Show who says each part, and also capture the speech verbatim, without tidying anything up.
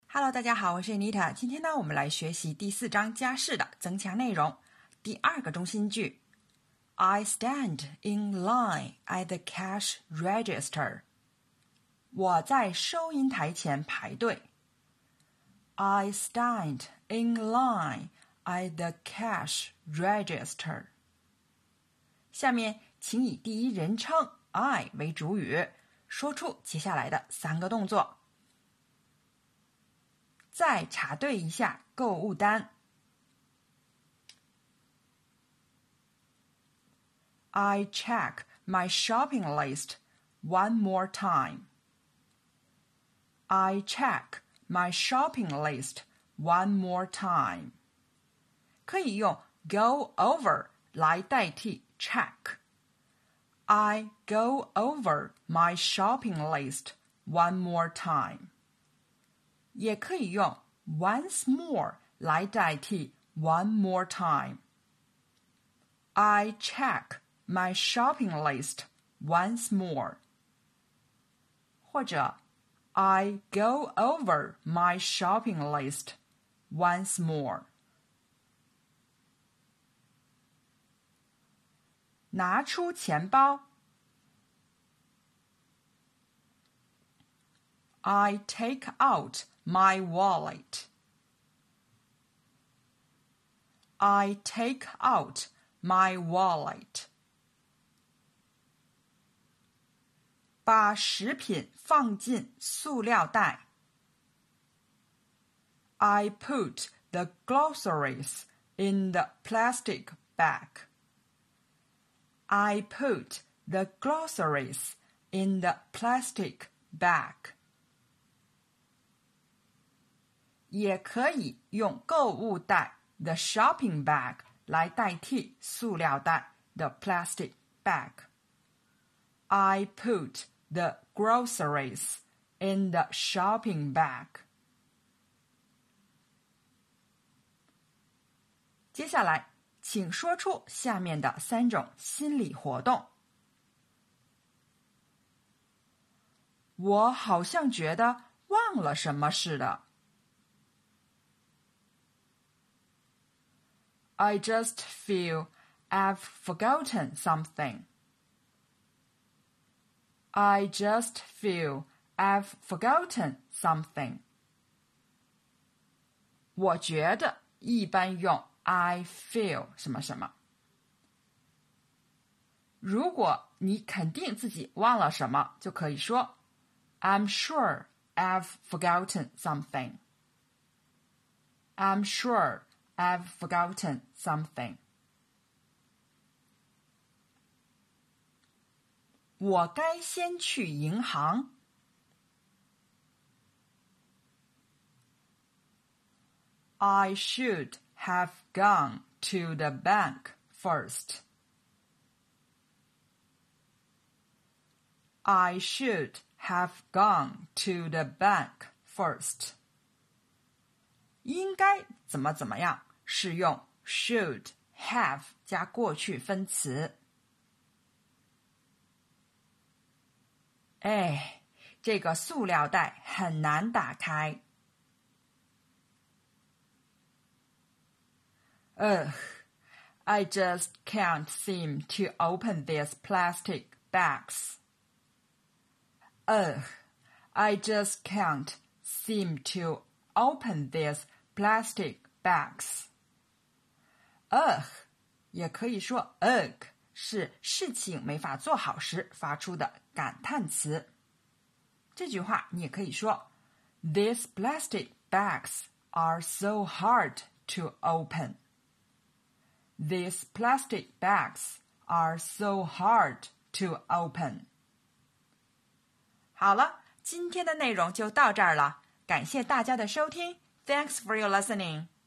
Speaker 1: Hello， 大家好，我是 Anita。今天呢，我们来学习第四章家事的增强内容。第二个中心句 I stand in line at the cash register. 我在收银台前排队。I stand in line at the cash register. 下面请以第一人称 I 为主语，说出接下来的三个动作。再查对一下购物单。I check my shopping list one more time. I check my shopping list one more time. 可以用 go over 来代替 check. I go over my shopping list one more time. 也可以用 once more 来代替 one more time. I check my shopping list once more. 或者 I go over my shopping list once more. 拿出钱包。I take out my wallet. I take out my wallet. 把食品放进塑料袋。I put the groceries in the plastic bag. I put the groceries in the plastic bag. 也可以用购物袋 the shopping bag 来代替塑料袋 the plastic bag. I put the groceries in the shopping bag. 接下来，请说出下面的三种心理活动。我好像觉得忘了什么似的。I just feel I've forgotten something. I just feel I've forgotten something. 我觉得一般用 I feel 什么什么。如果你肯定自己忘了什么，就可以说 I'm sure I've forgotten something. I'm sure I've forgotten something. 我该先去银行。I should have gone to the bank first. I should have gone to the bank first. 应该怎么怎么样是用 should have 加过去分词。哎，这个塑料袋很难打开。Ugh, I just can't seem to open these plastic bags. Ugh, I just can't seem to open these plastic bags. Ugh, 也可以说 ugh, 是事情没法做好时发出的感叹词。这句话你也可以说 These plastic bags are so hard to open. These plastic bags are so hard to open. 好了，今天的内容就到这儿了，感谢大家的收听。Thanks for your listening.